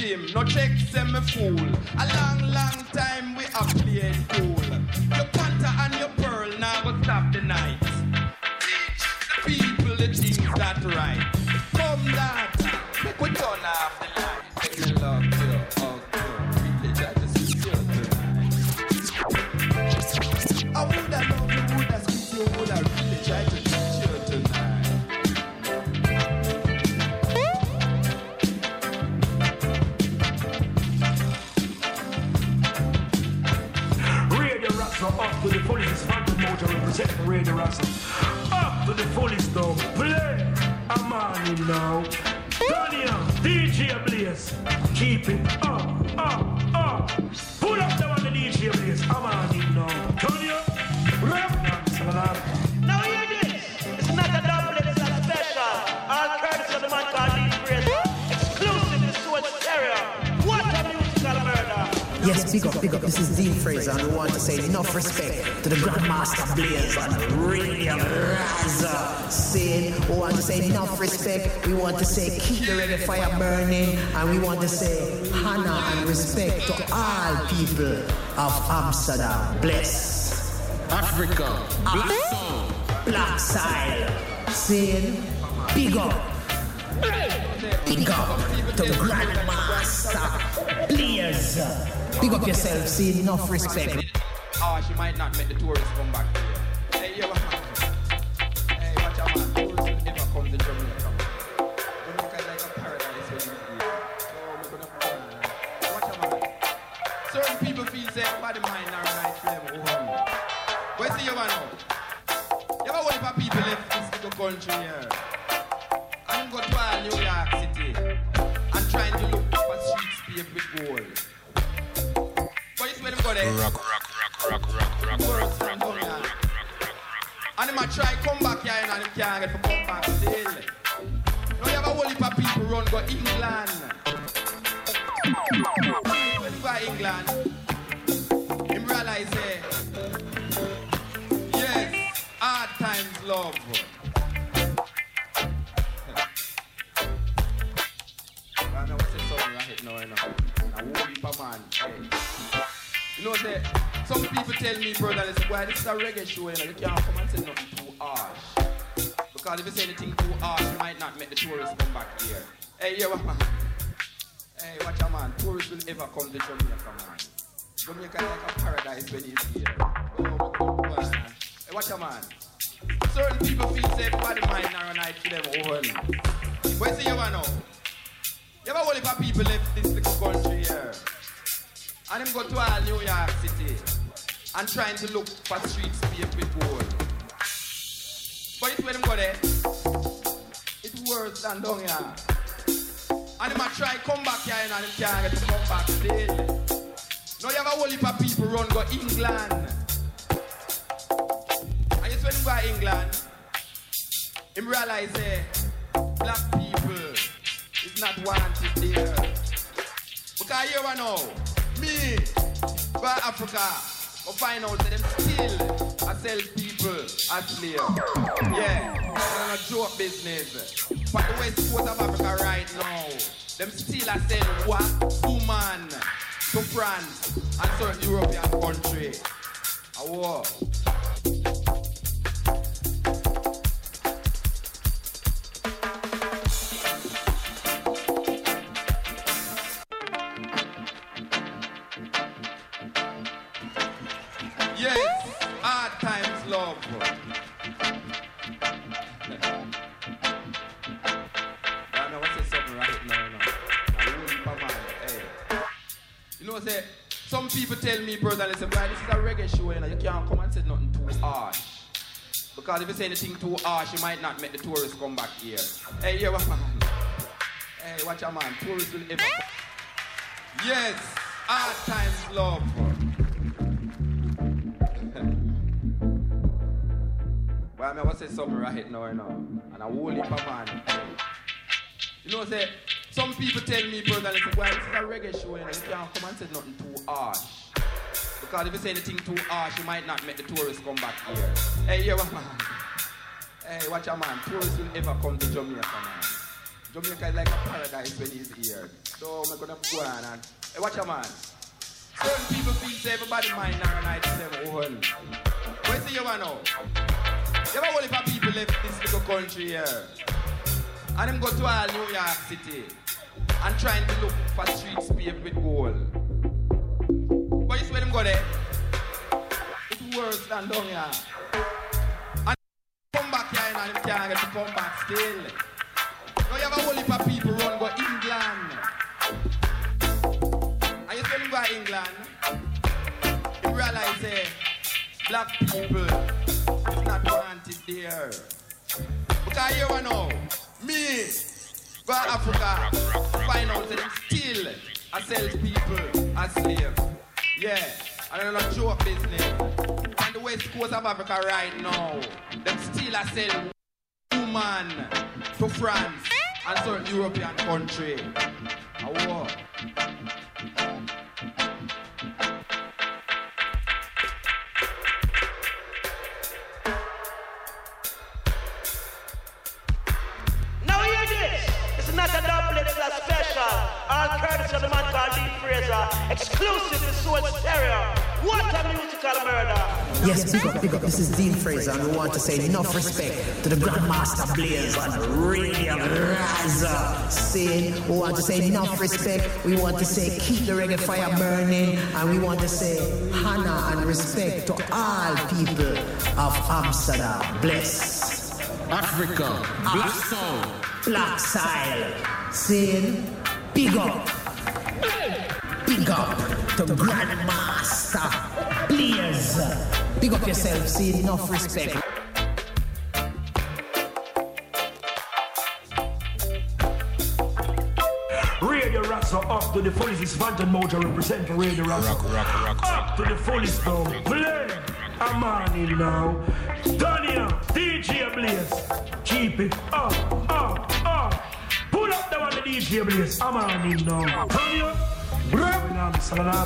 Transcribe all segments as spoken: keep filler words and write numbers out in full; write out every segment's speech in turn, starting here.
him, no check, send me fool. A long, long time we are playing cool. Your panther and your pearl now go stop the night. Teach the people the things that right. Come that, make we turn off the light. Make me love you, oh girl, really try to see you tonight. I would have loved you, would have squeezed you, would have really tried to teach you tonight. Radio Rasta up to the fullest, Phantom Motor representing Radio Rasta. Up to the fullest though, play a man now. Tanya, D J Blaze, keep it up, up, up. Pull up the one the D J Blaze, a man now. Tanya, rap, now hear this, it's not a double, it's a special. All courtesy of the man called Lee Fraser. Exclusive to Sword Stereo. What a musical murder. Yes, big up, big up. This is Dean Fraser, and we want to say enough respect to the Grandmaster Blaze on Radio Raza. Saying, we want to say enough respect. We want to say keep the reggae fire burning, and we want to say honor and respect to all people of Amsterdam. Bless Africa, Black Soul, Black Side. Saying, big up, big up to the Grandmaster Blaze. Big up yourself, see enough respect. Oh, she might not make the tourists come back here. Hey, yo, hey, watch out, man. Tourists will never come to Jamaica. Jamaica is like a paradise when you're here. So, we're gonna come. Watch out, man. Certain people feel say body mind are right for them. Oh, where's the you know? You ever wonder if people left this little country here? And go to New York City and trying to look for streets paved with gold. Rock, rock, rock, rock, rock, rock, rock, rock, rock, rock. And they might try come back here and they can't get for come back still. Now you have a whole heap of people run go England. When you go England, you realize, eh, yes, hard times love. I know what's the song right now, you know. A whole heap of man, hey. You know, say, some people tell me, brother, they say, why this is a reggae show, you know, you can't come and say nothing too harsh. Because if you say anything too harsh, you might not make the tourists come back here. Hey, yeah, man. Hey, watch out, man. Tourists will ever come to Jamaica, man. Jamaica is like a paradise when he's here. Oh, my God, man. Hey, watch out, man. Certain people feel safe body mind narrow night for them own. But see, you know, you ever whole heap of people left this little country here? And him go to all New York City and trying to look for streets paved with gold. But it's when him go there, it's worse than down here. And him a try come back here and him can't get to come back still. Now you have a whole heap of people run go England. And it's when him go to England, him realize eh, black people is not wanted there. Because here we know, me, go Africa, go find out that them still a sell people as slaves. Yeah, it's a joke business. But the west coast of Africa right now, them still a sell what? Woman to France and certain European country. A war. Say, some people tell me, brother, listen, boy, this is a reggae show, you know, you can't come and say nothing too harsh. Because if you say anything too harsh, you might not make the tourists come back here. Hey, yeah, man. Hey, watch out, man. Tourists will ever come. Yes, hard times love. Well, I mean, I was say something right now, you know, and a whole heap of man. You know, say, some people tell me, brother, listen, well, this is a reggae show, you know, you can't come and say nothing too harsh. Because if you say anything too harsh, you might not make the tourists come back here. Hey, yeah, man. Hey, watch out, man. Tourists will ever come to Jamaica, man. Jamaica is like a paradise when he's here. So I'm gonna go on and hey, watch a man. Certain people feel say everybody mind now night to them own. Where see you want now? You ever whole heap of people left this little country here? And them go to all New York City and trying to look for streets paved with gold. But you see where them go there? It's worse than down here. And come back here and them can't get to come back still. Now you have a whole heap of people run go England. And you see them go England, you realize eh, black people is not wanted there. Because here we know, me, go to Africa, find out that them still I sell people as slaves. Yeah, and I'm not joke business. On the west coast of Africa right now, them still I sell woman to France and certain European country. Oh, what? Not a double, it's a special. All courtesy of the man called Dean Fraser. Exclusive to Soul Stereo. What a musical murder. Yes, big up, big up. This is Dean Fraser, and we want to say enough respect to the Grandmaster Blaze on Radio Raza. Saying, we want to say enough respect. We want to say keep the reggae fire burning, and we want to say honor and respect to all people of Amsterdam. Bless Africa, Black Soul. Black Style, saying big up, big up to Grandmaster Blaze. Big up yourself, saying enough respect. Radio Rasta up to the fullest. It's Phantom Mojo representing Radio Rasta. Rock, rock, rock, up to the fullest now. Play a man in now. Dania, D J Blaze. Keep it up, up, up. Pull up the one the D J Blaze. A man in now. Dania, Salam, salam.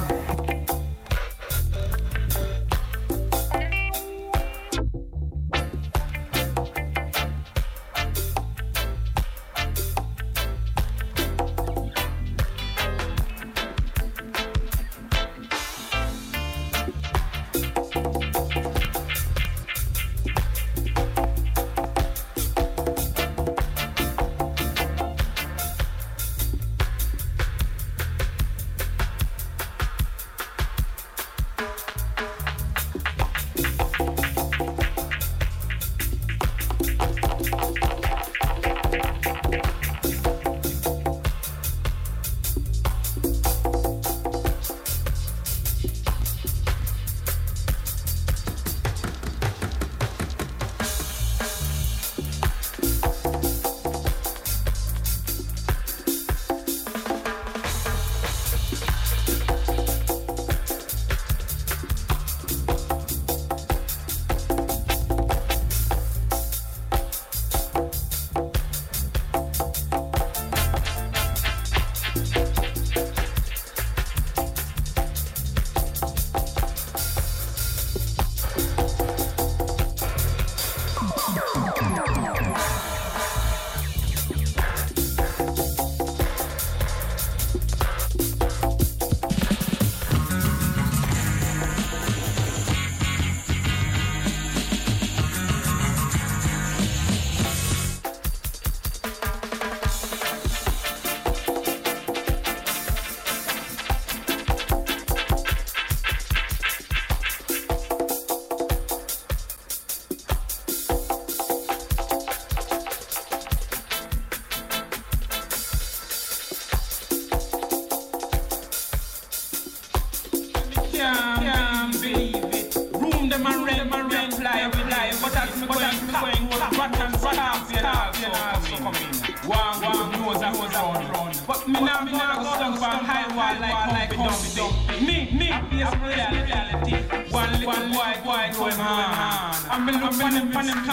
But me now, me now go stand for high wall like like Humpty. Me, me, face reality. One little boy, boy, going on. I'm in love with him, with him,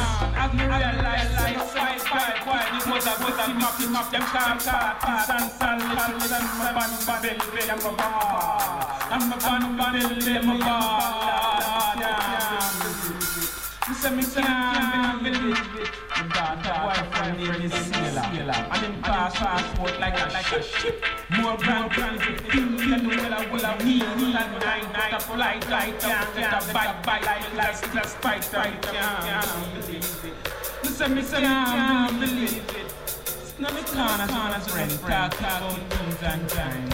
as me realize, like, fight, fight, fight. This was a good team up, team up, them can't start. San, san, little, san, my band, my belly, belly, I'm a bar. I'm a band, my belly, I'm a bar. Listen, me say, I believe it. That boyfriend name is Sailor, and him pass passport like a like a ship. More grand grand thing than the well I will have need. And nine nine a flight like can't get a bite bite like like like spite right can't believe it. Listen, me say, I believe it. It's not me corner corner friend talk about things and time.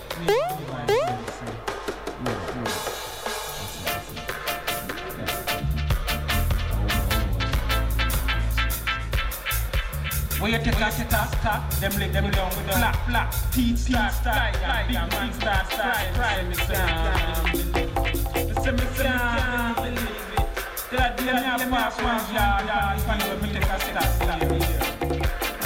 When you take a take a stop, them leg them down with the flap flap, teeth start start, big man start start, try me say, listen me say, I believe it. That day I have pass one yard, yard, if I know me take a stop, stop me there.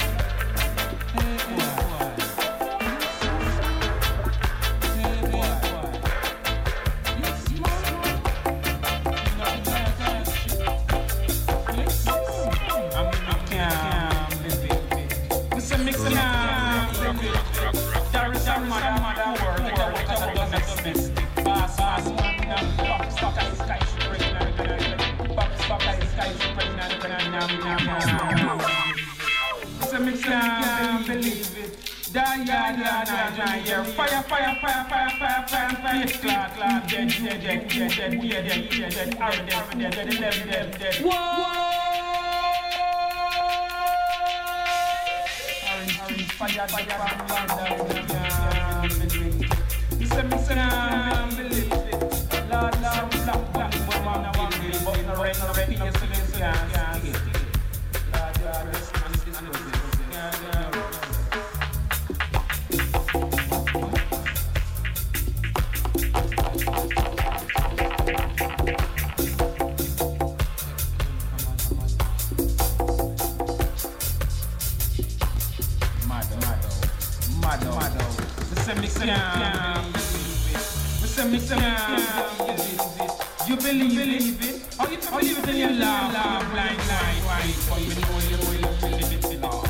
Fire, fire, fire, fire, fire, fire, fire, clad, clad, dead, dead, dead, dead, dead, we are dead, dead, dead, are dead, dead, dead, dead, dead, dead. Whoa! Orange trees, fire, fire, fire, fire, you say me say, I believe it. Lord, Lord, black, black, but man, I want to but no rain, no rain, no rain, yeah, yeah. Lord, Lord, rest and this is yeah, yeah. You believe it? How you believe it in your love, love, blind, blind, blind, but you know you know you believe it in love.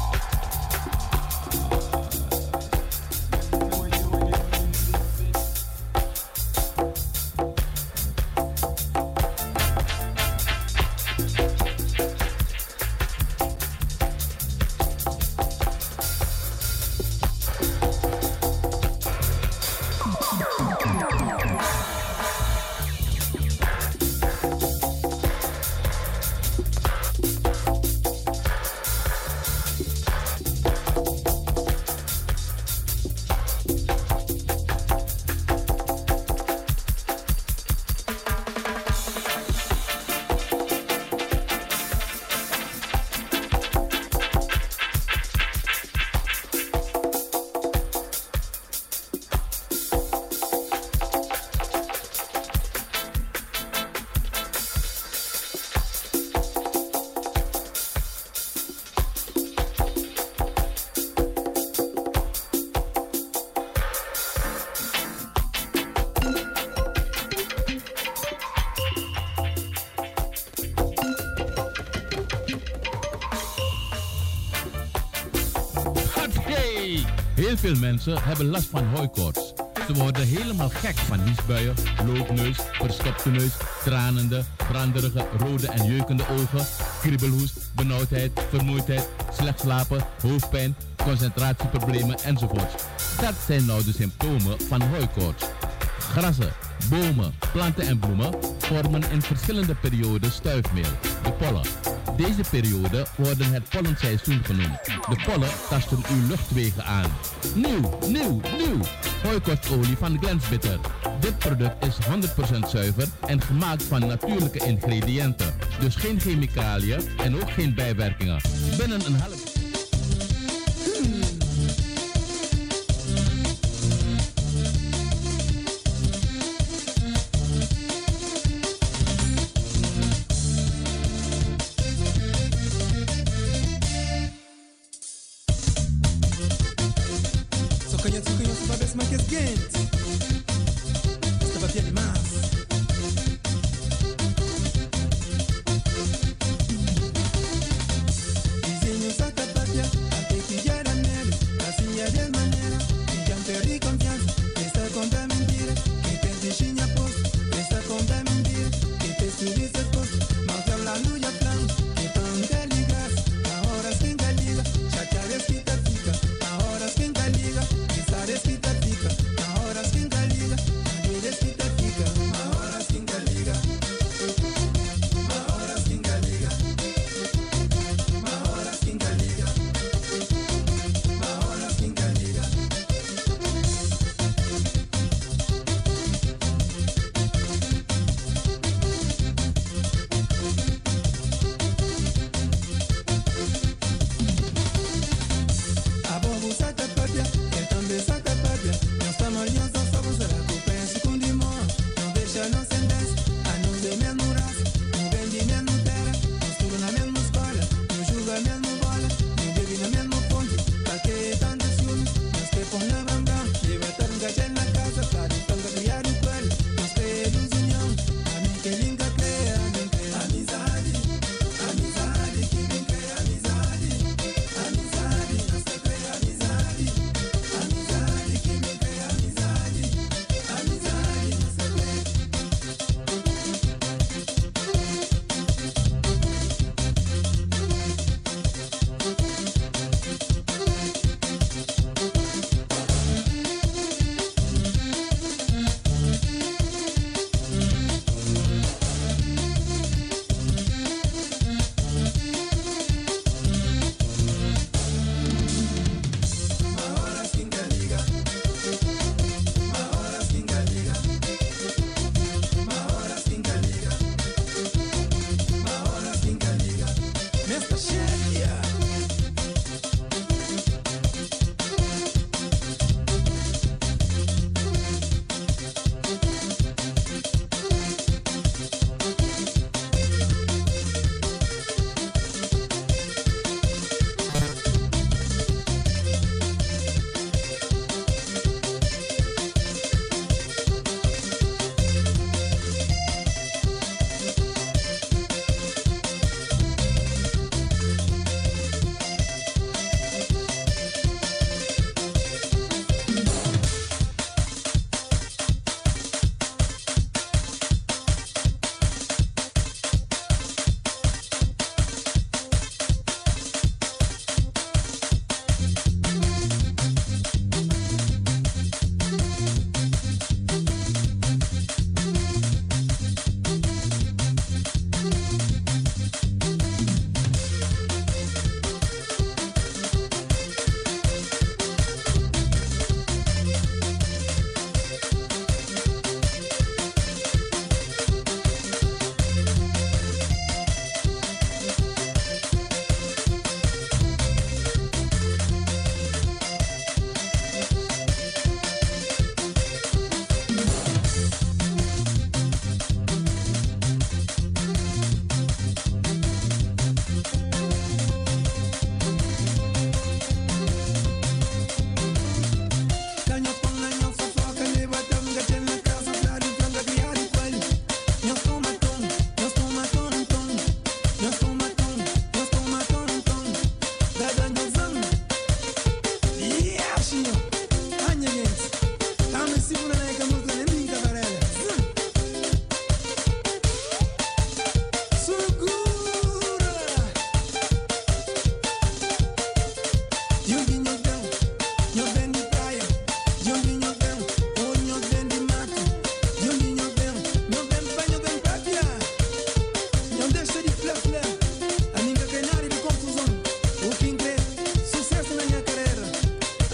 Heel veel mensen hebben last van hooikoorts. Ze worden helemaal gek van niesbuien, loopneus, verstopte neus, tranende, branderige, rode en jeukende ogen, kriebelhoest, benauwdheid, vermoeidheid, slecht slapen, hoofdpijn, concentratieproblemen enzovoorts. Dat zijn nou de symptomen van hooikoorts. Grassen, bomen, planten en bloemen vormen in verschillende perioden stuifmeel, de pollen. Deze periode worden het pollenseizoen genoemd. De pollen tasten uw luchtwegen aan. Nieuw, nieuw, nieuw! Hooikoortsolie van Glensbitter. Dit product is honderd procent zuiver en gemaakt van natuurlijke ingrediënten. Dus geen chemicaliën en ook geen bijwerkingen. Binnen een half... Mas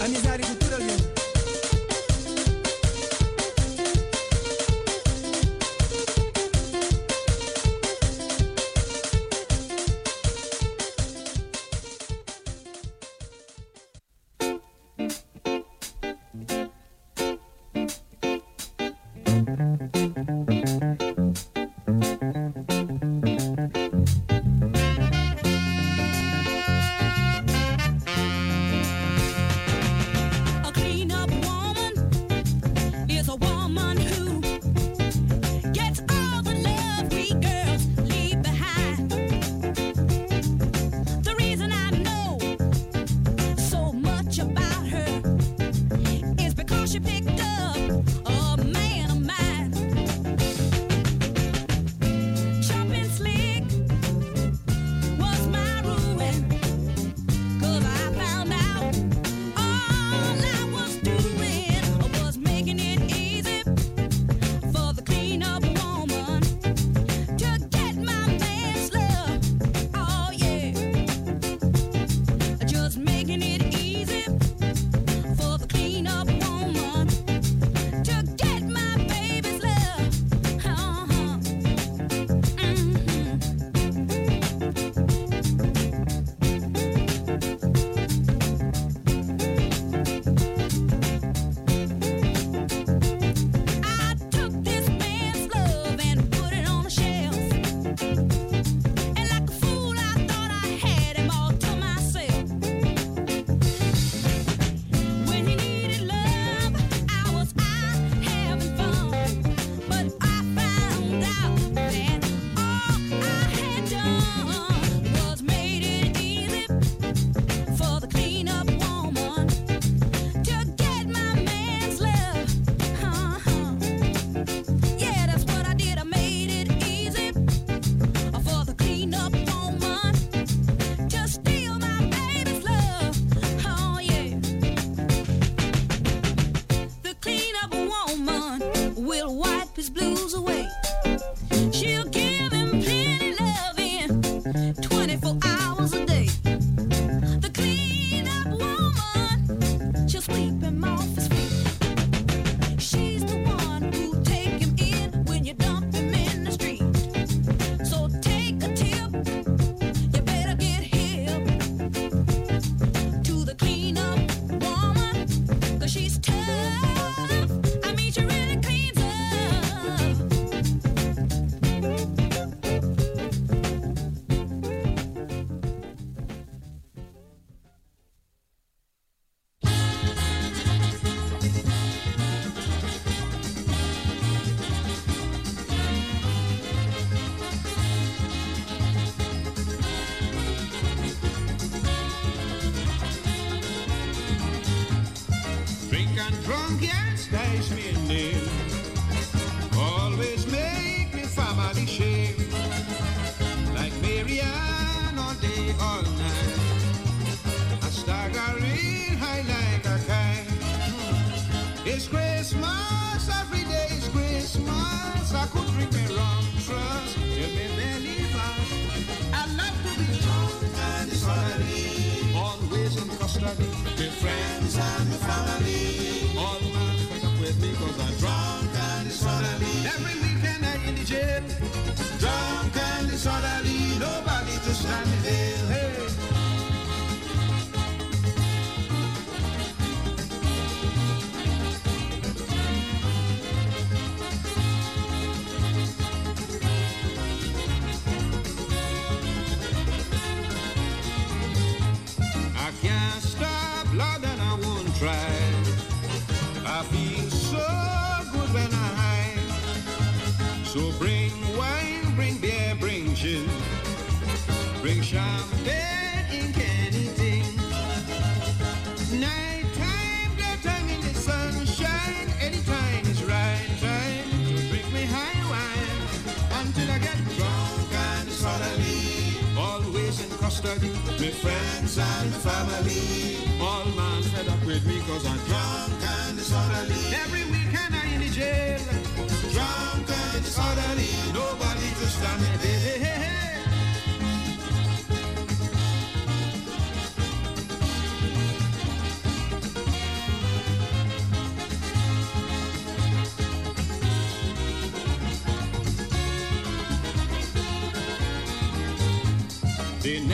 Anizari Kutura again.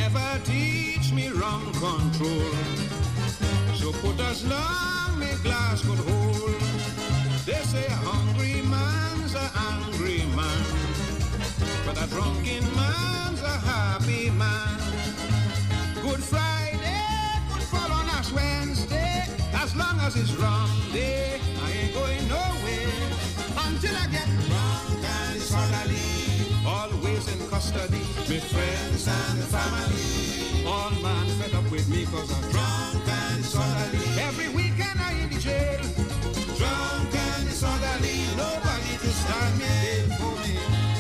never teach me wrong control. So put as long me glass could hold. They say a hungry man's a angry man, but a drunken man's a happy man. Good Friday could fall on Ash Wednesday. As long as it's wrong day, I ain't going nowhere until I get drunk and disorderly. Always in custody, my friends and the family. All man fed up with me cause I'm drunk and disorderly. Every weekend I in the jail, drunk and disorderly. Nobody to stand me in for me.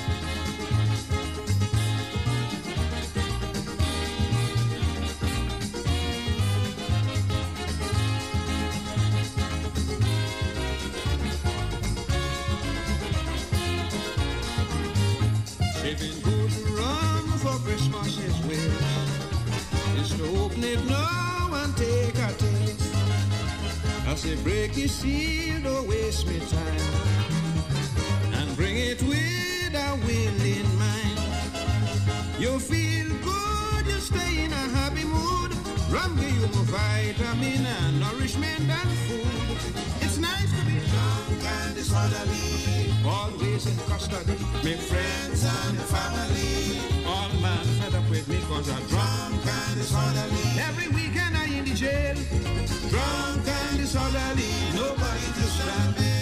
Saving good rum for Christmas is well. It's to open it now and take a taste. I say break the seal, don't waste me time, and bring it with a will in mind. You feel good, you stay in a happy mood. Rum give you more vitamin and nourishment and food. It's nice to be drunk and disorderly. Always in custody, make friends and the family. All man fed up with me cause I'm drunk and disorderly. Every weekend I in the jail, drunk and disorderly. Nobody to stand me.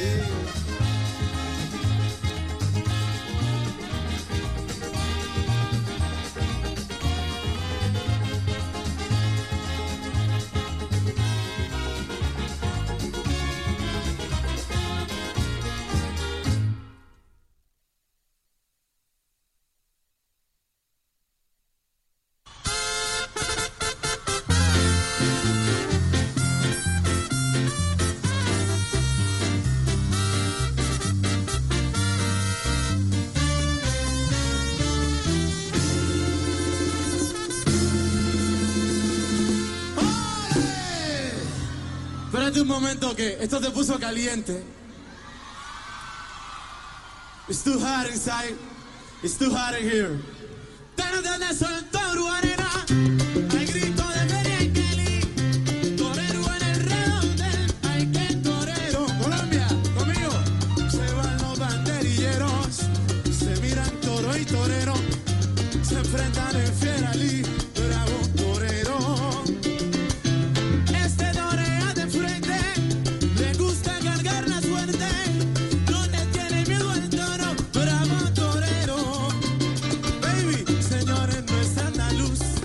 Espérate un momento que esto se puso caliente. It's too hot inside. It's too hot in here. Hay grito de merengueli, torero en el redondel. Hay que torero. Colombia, conmigo. Se van los banderilleros, se miran toro y torero, se enfrentan en Fieralí. Bravo torero. Señores, no es andaluz.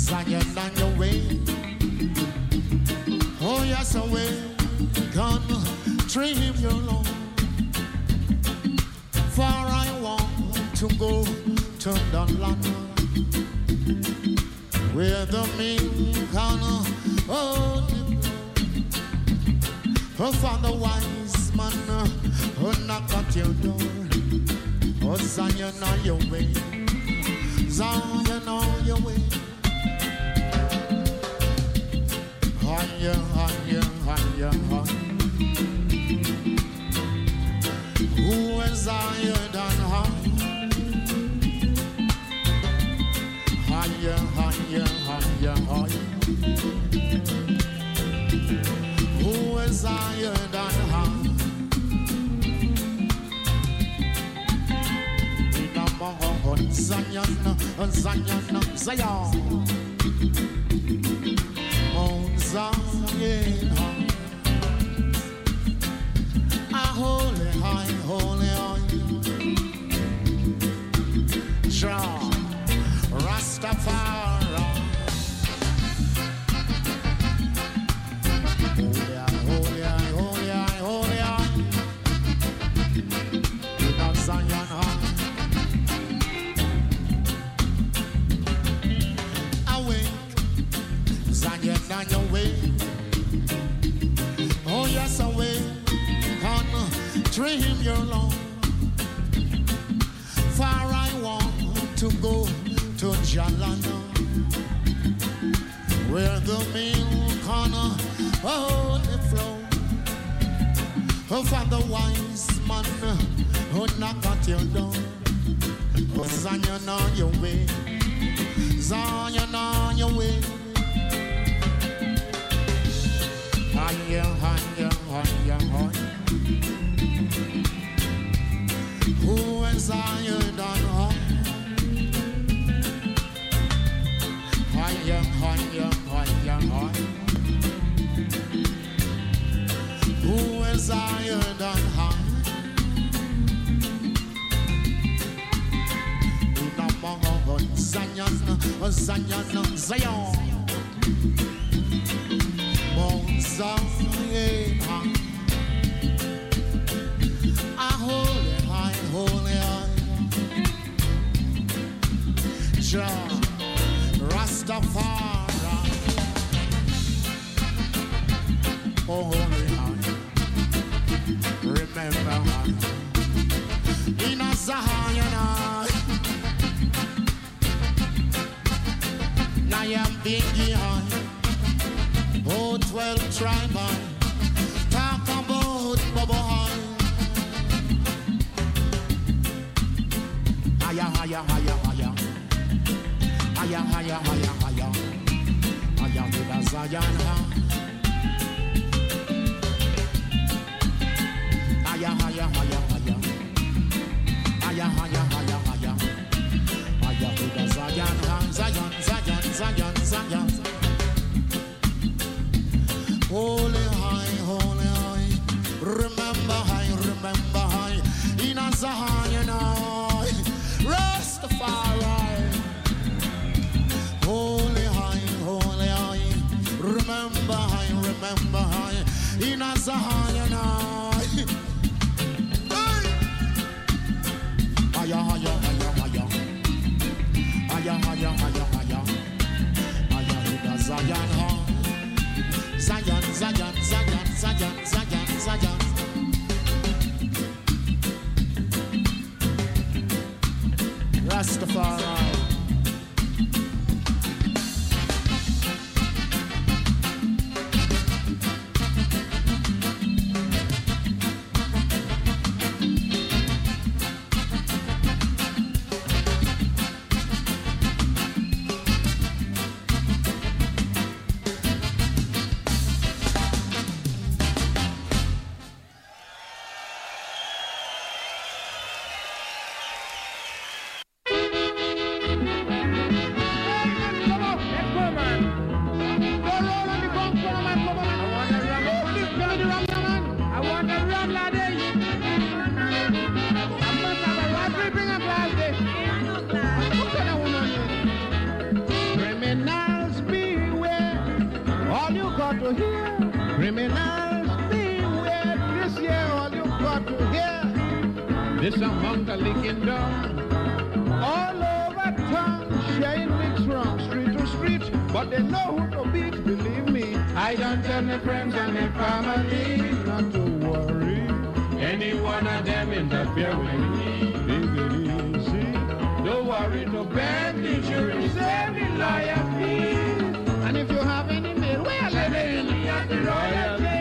Zion on your way. Oh yes, away. Gonna dream your Lord. For I want to go to the land where the milk and honey. Oh, for the wise man who knock at your door. Oh, Zion on your way. Zion on your way. Higher, higher, higher, higher. Who is higher than high? Higher, higher, higher, higher. Who is higher than high? In a Mount Zion, Zion, Zion. Mount Zion, a holy high, holy high. Jah Rastafari. Holy high, holy high, holy high. In a Zion high. Awake, Zion on your way. Oh yes, away. Dream your Lord. For I want to go to Jalana, where the milk and honey flow. Oh, for the wise man who knock at your door. Oh, Zion on your way. Zion on your way. Higher, higher, higher, higher. Who is higher than high? Higher, higher, higher, higher. Who is higher than high? In a Mount Zion, Zion, Zion. Mount Zion, a holy high, holy high. Jah Rastafari. Oh, holy high. Remember high. In a Zion high. Now I'm biggie high. Oh, twelve tribe high. Talk about Bubba high. Higher, higher, higher, higher. Higher, higher, higher, higher. Higher to the Zion high. Higher, higher, higher, higher. Higher, higher, higher, higher. Higher to the Zion high. Zion, Zion, Zion, Zion. Holy high, holy high. Remember high, remember high. In a Zion high. Rastafari. Holy high, holy high. Remember high, remember high. In a Zion high. Higher, higher, higher, higher. Higher, higher, higher, higher. Higher to the Zion high. Zion, Zion, Zion, Zion, Zion, Zion. Rastafari. to hear criminals being weird. This year all you got to hear. This among the licking down. All over town, sharing mix from street to street. But they know who to beat, believe me. I don't tell my friends and my family not to worry. Any one of them interfere with me. Take it easy. Don't worry, no bad insurance, every lawyer fee. And if you have any mail, well, let it in the at the royal jail.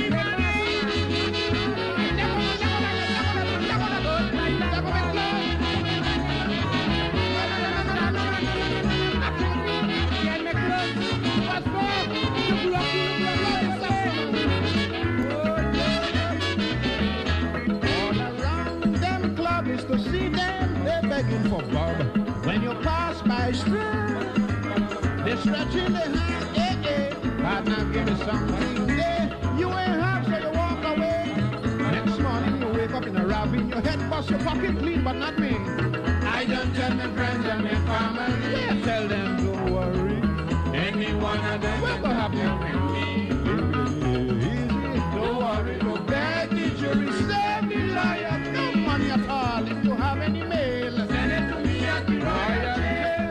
To see them, they're begging for Bob. When you pass by street, they're stretching their hand, eh, eh. Partner, give me something, eh. You ain't have, so you walk away. Next morning, you wake up in a ravine, your head bust, your pocket clean, but not me. I don't tell my friends and my family, yeah, tell them, don't worry. Any one of them will go happy with me. Easy, don't worry, no bad jury, save me liar, no money at all. If you have any mail, send it to me at the royal jail.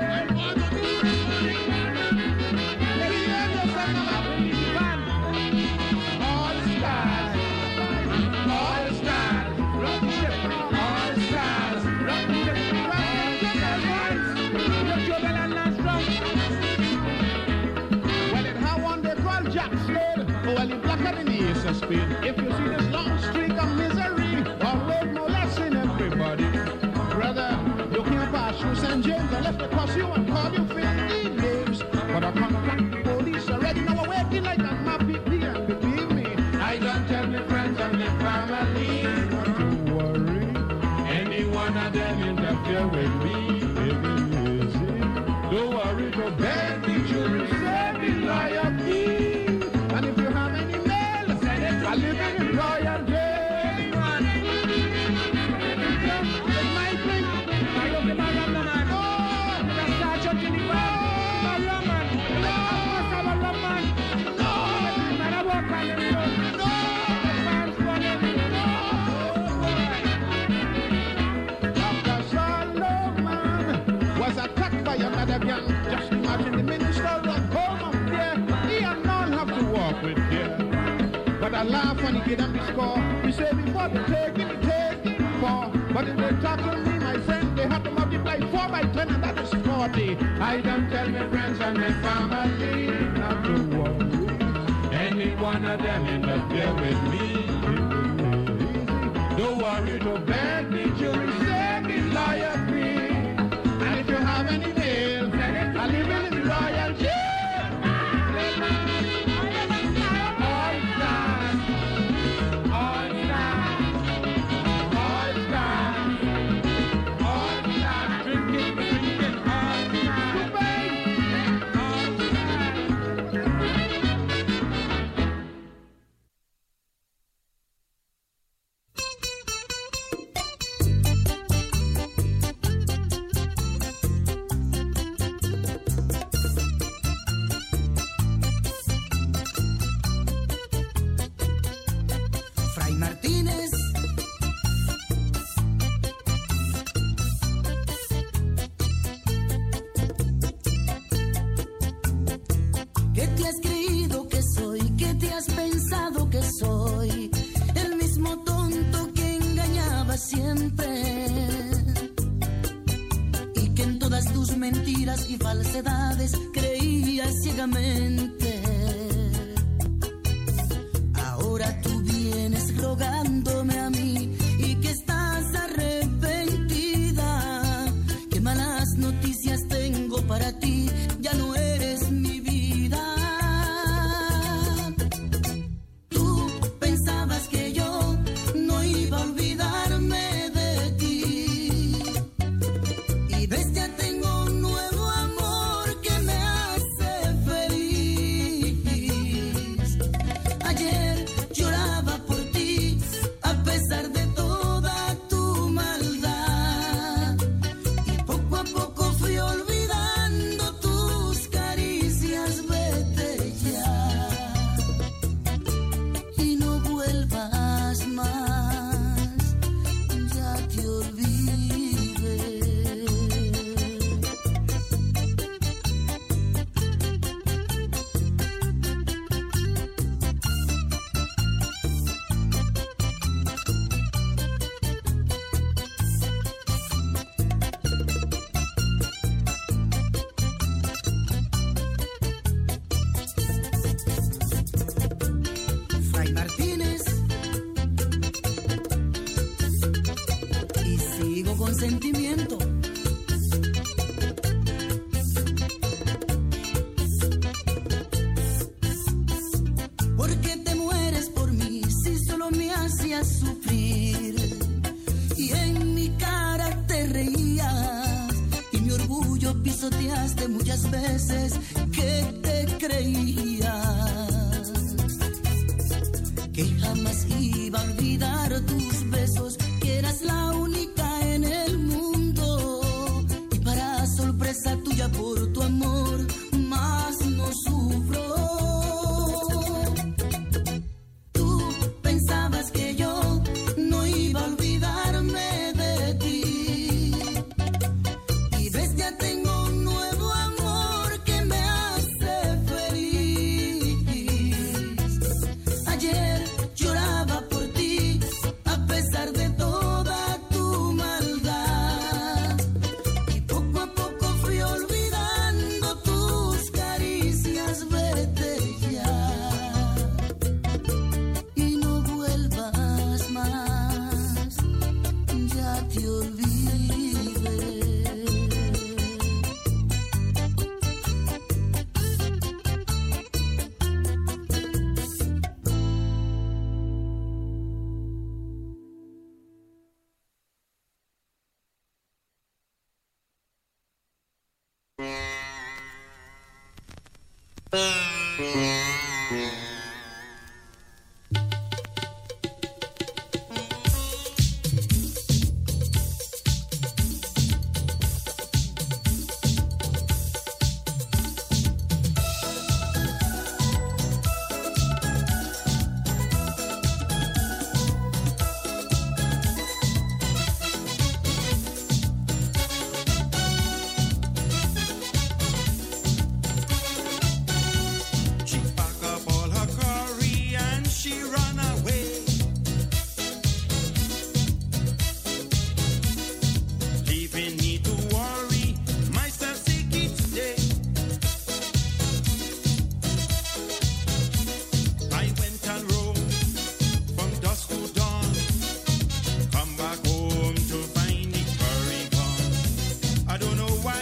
All stars, all stars, rock the ship, all stars, rock the ship, rock the ship, well, it had one they call Jack Slade. Oh, well, he blacker than the ace of spade. If you see this long streak of misery, always molesting everybody. Brother, you can't pass through Saint James unless they cross you and call you filthy names. But I contact police already now are waiting like a mappy deer. And believe me, I don't tell my friends and my family not to worry. Any one of them interfere with me, baby, easy. Don't worry, don't beg the jury, save the lawyer fee. And if you have any mail, send it to I live in the royal jail. Just imagine the minister of home up there. He and none have to walk with care. But I laugh when he get on the score. We say before they take it, take it four. But if they talk to me, my friend, they have to multiply four by ten, and that is forty. I don't tell my friends and my family not to worry. Any one of them interfere with me. Don't worry, don't beg the jury, say the lawyer free. And if you have any mail, I live in the royal jail. All stars, all stars, all stars, all stars, drinking, drinking, all stars, all y falsedades creías ciegamente. Ahora tú vienes rogándome a mí y que estás arrepentida. Qué malas noticias tengo para ti, ya no eres mi vida. Tú pensabas que yo no iba a olvidarme de ti y ves ya tengo un nuevo amor que me hace feliz. sentimiento. ¿Por qué te mueres por mí si solo me hacías sufrir? Y en mi cara te reías y mi orgullo pisoteaste muchas veces que te creías que jamás iba a olvidar tus besos, que eras la única en el mundo. Y para sorpresa tuya por tu amor, más no sufro. Tú pensabas que yo no iba a olvidarme de ti. Y ves, ya tengo un nuevo amor que me hace feliz. Ayer lloraba por ti a pesar de toda tu maldad. Y poco a poco fui olvidando tus caricias, vete ya. Y no vuelvas más, ya te olvidé. She packed up all her curry and she ran away, leaving me to worry myself sick each day. I went and roamed from dusk to dawn, come back home to find the curry gone. I don't know why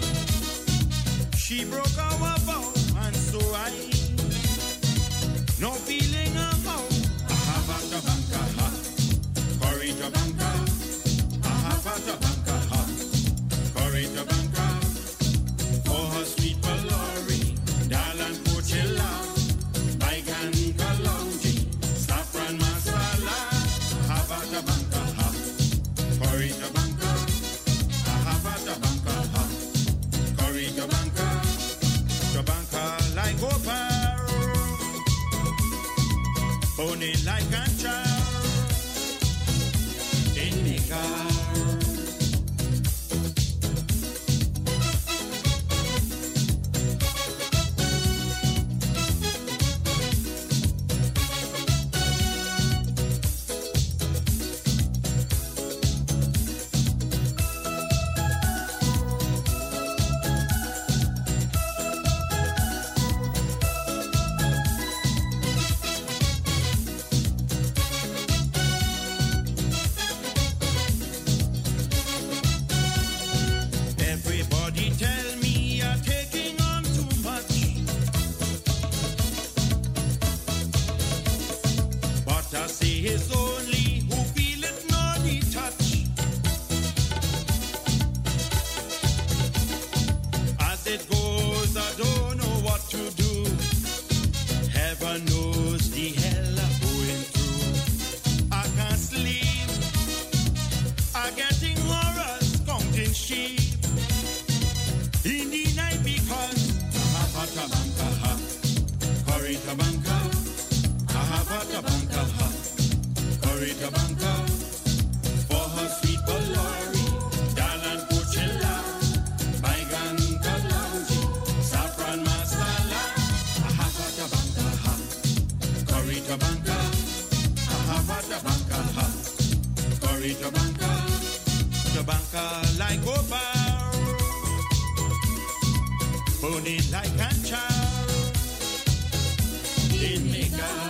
she broke our vow, and so I no feeling of how I have a tabanka ha, curry tabanka, I have a tabanka ha, curry tabanka, for her sweet Palori, Dalan Coachella, Baigan Kalonji, saffron masala, I have a tabanka ha, curry tabanka, I have a tabanka ha, curry tabanka, tabanka like opal. Pony like a child in the car. Everybody tell me you're taking on too much, but I see it's only who feel it, not the touch. As it goes, I don't know what to do. Heaven knows the hell I'm going through. I can't sleep, I'm getting horrors, counting sheep in the night because I have a tabanka ha, curry tabanka, I have a tabanka ha, curry tabanka, for her sweet Palori, Dalan Coachella, Baigan Kalonji, saffron masala, I have a tabanka ha, curry tabanka, I have a tabanka ha, curry tabanka, tabanka like opal, pony like a child in the car.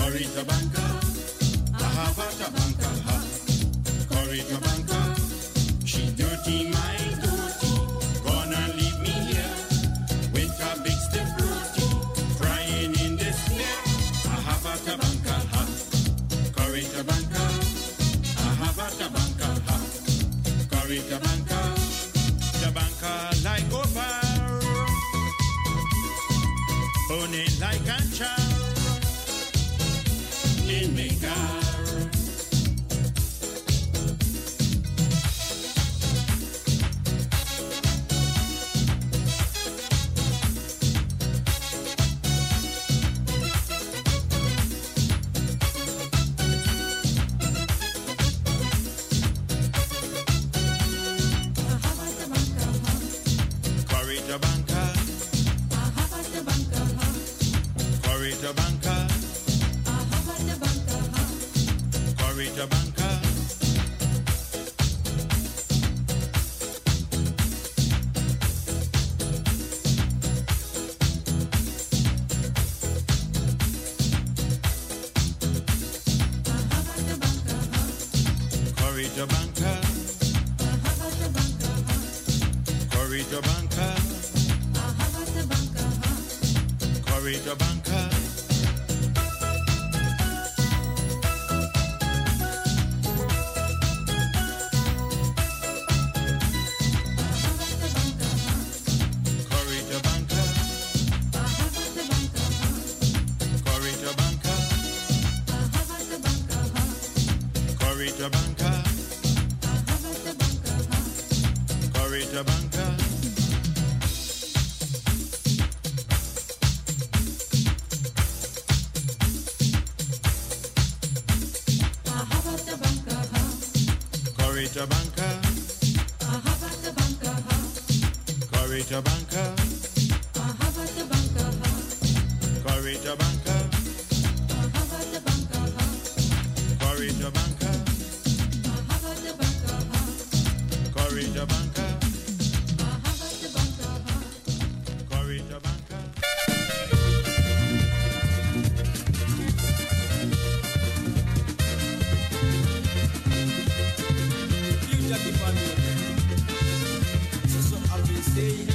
Corita Banca, Ahabata Banca, Corita Banca, she dirty my dirty, gonna leave me here with a big stiff rooty, crying in this neck. Ahabata Banca, Corita Banca, Ahabata Banca, Corita Banca, the banca like over, bone like a child. In my car. Corita Banca, Corita Banca, Corita Banca. Corita Banca, Corita Banca, Corita Banca. Corita Banca, Corita Banca. Corita Banca, Corita Banca, Corita Banca, Corita Banca, Corita Banca, Corita Banca. You Jackie Pando, so so I've been saying.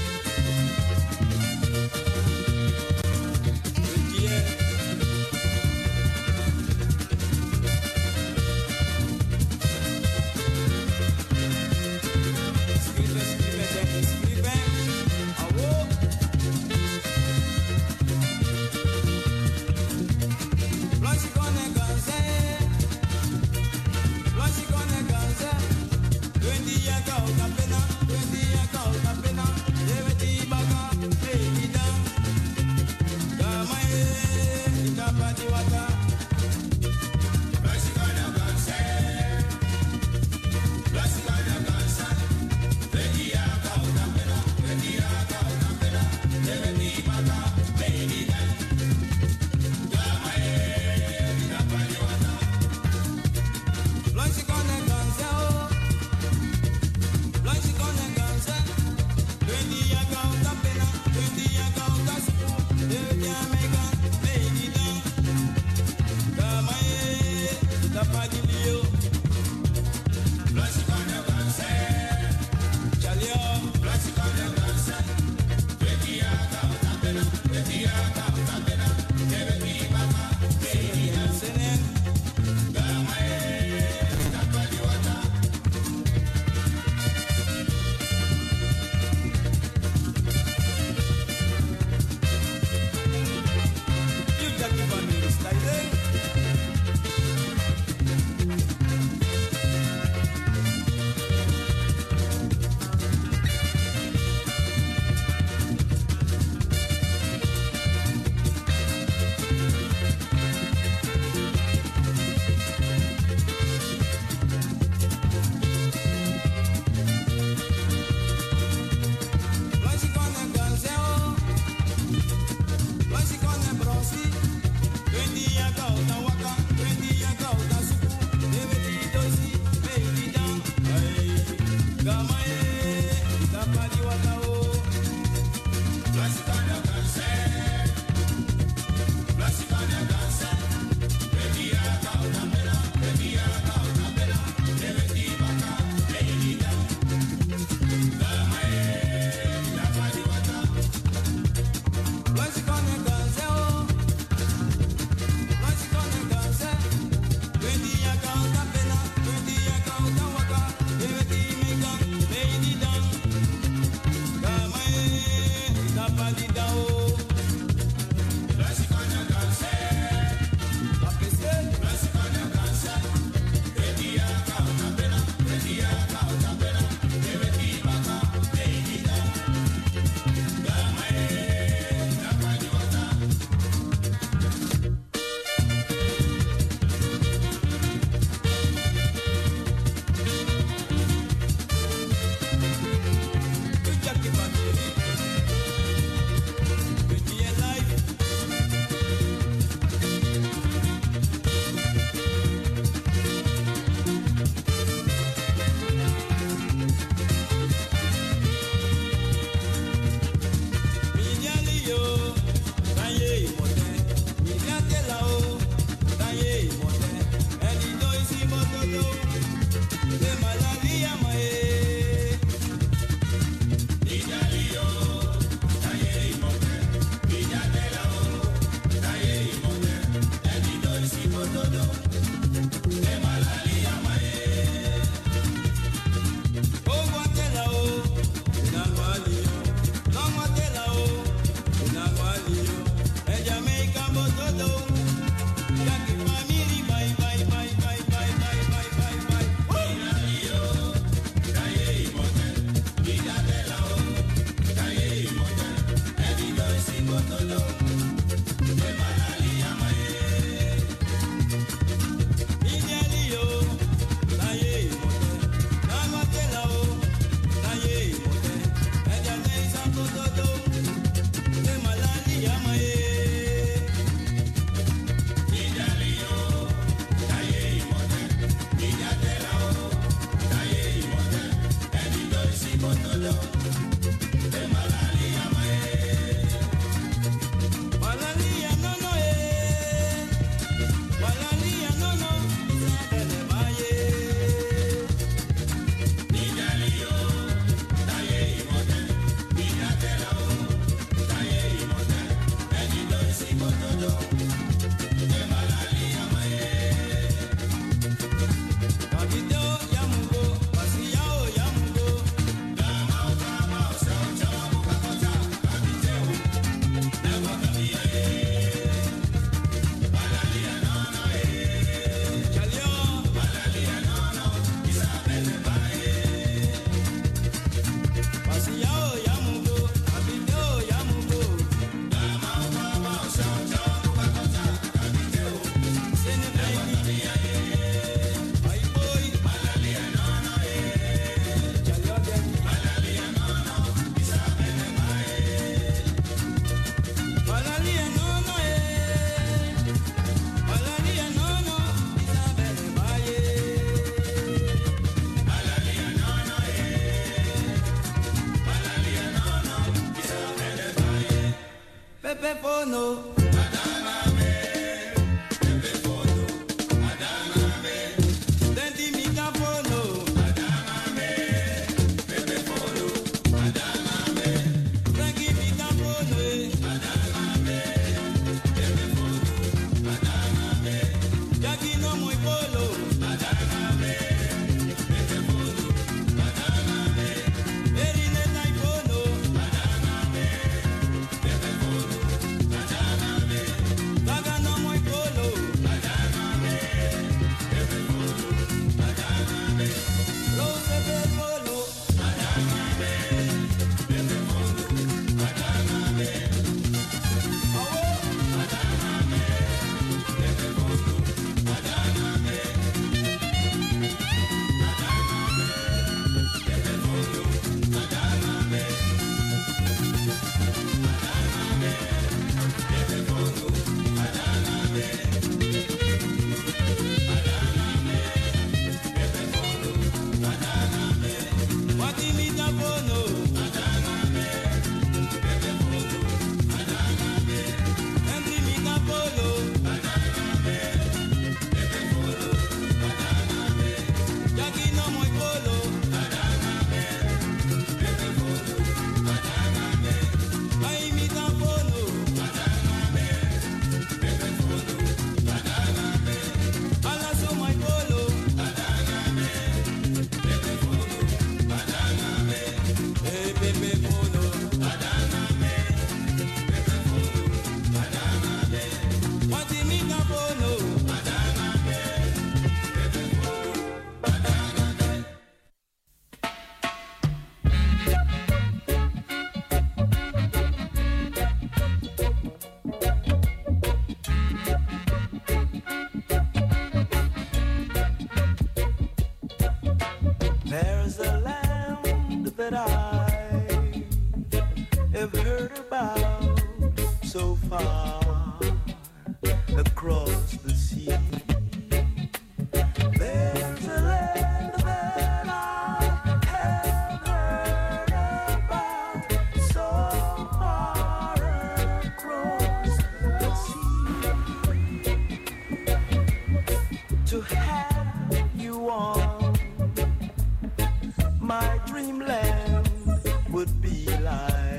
My dreamland would be like